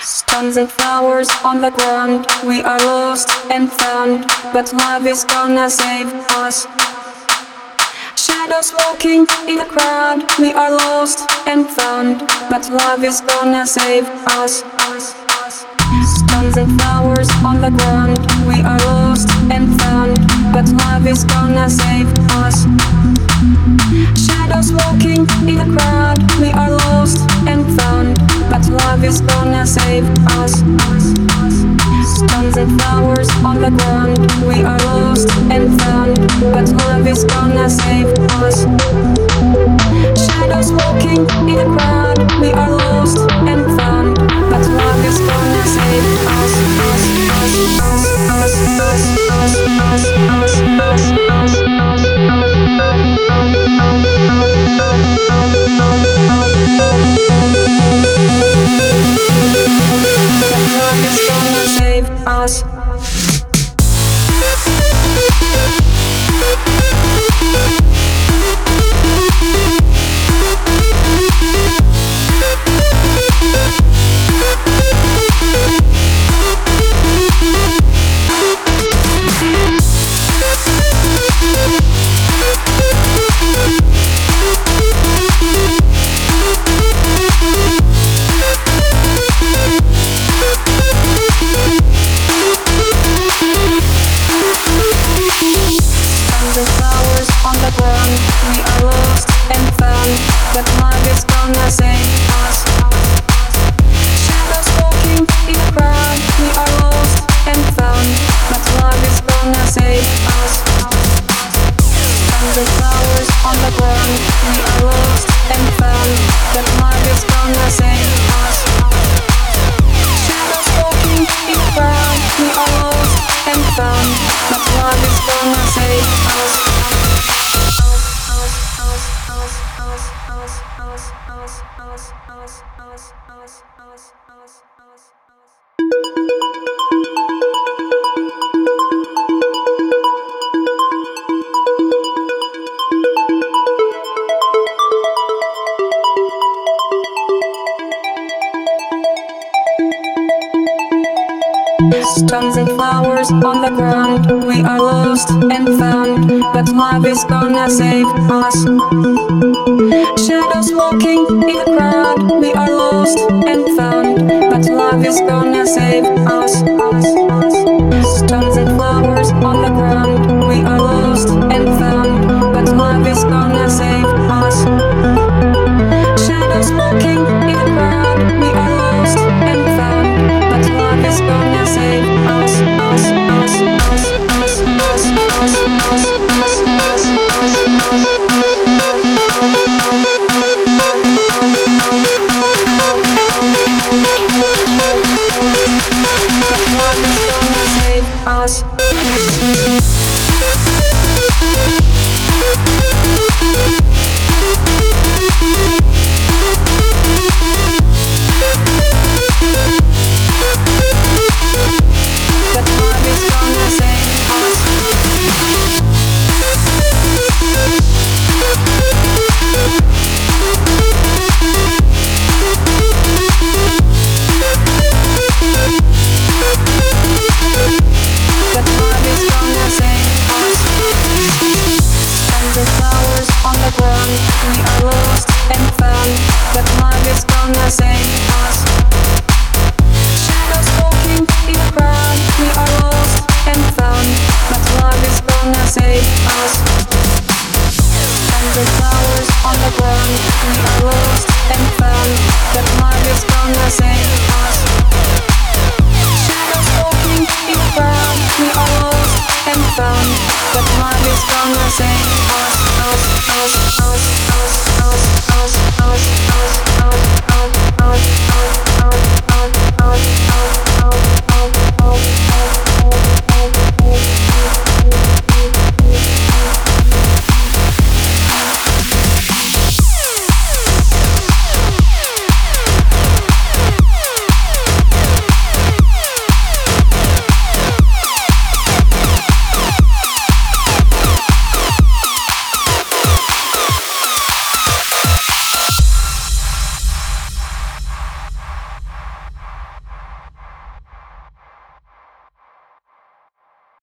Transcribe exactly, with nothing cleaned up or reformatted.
Tons of flowers on the ground, we are lost and found, but love is gonna save us. Shadows walking in the crowd, we are lost and found, but love is gonna save us. Tons of flowers on the ground, we are lost and found, but love is gonna save us. Shadows walking in the crowd, we are lost and found, but love is gonna save us. Tons of flowers on the ground, we are lost and found, but love is gonna save us. Shadows walking in the crowd, we are lost and found, but love is gonna save us. Us, us, us, us, us, us, us, us, us, us, us. Love is gonna save us. We are lost and found, but love is gonna save us. Shadows walking in the crowd, we are lost and found, but love is gonna save us. Tons of flowers on the ground, we are lost and found, but love is gonna save us. Shadows walking in the crowd, we are lost and found, but love is gonna save us. Tons of flowers on the ground, we are lost and found, but love is gonna save us. Shadows walking in the crowd, we are lost and found, but love is gonna save us.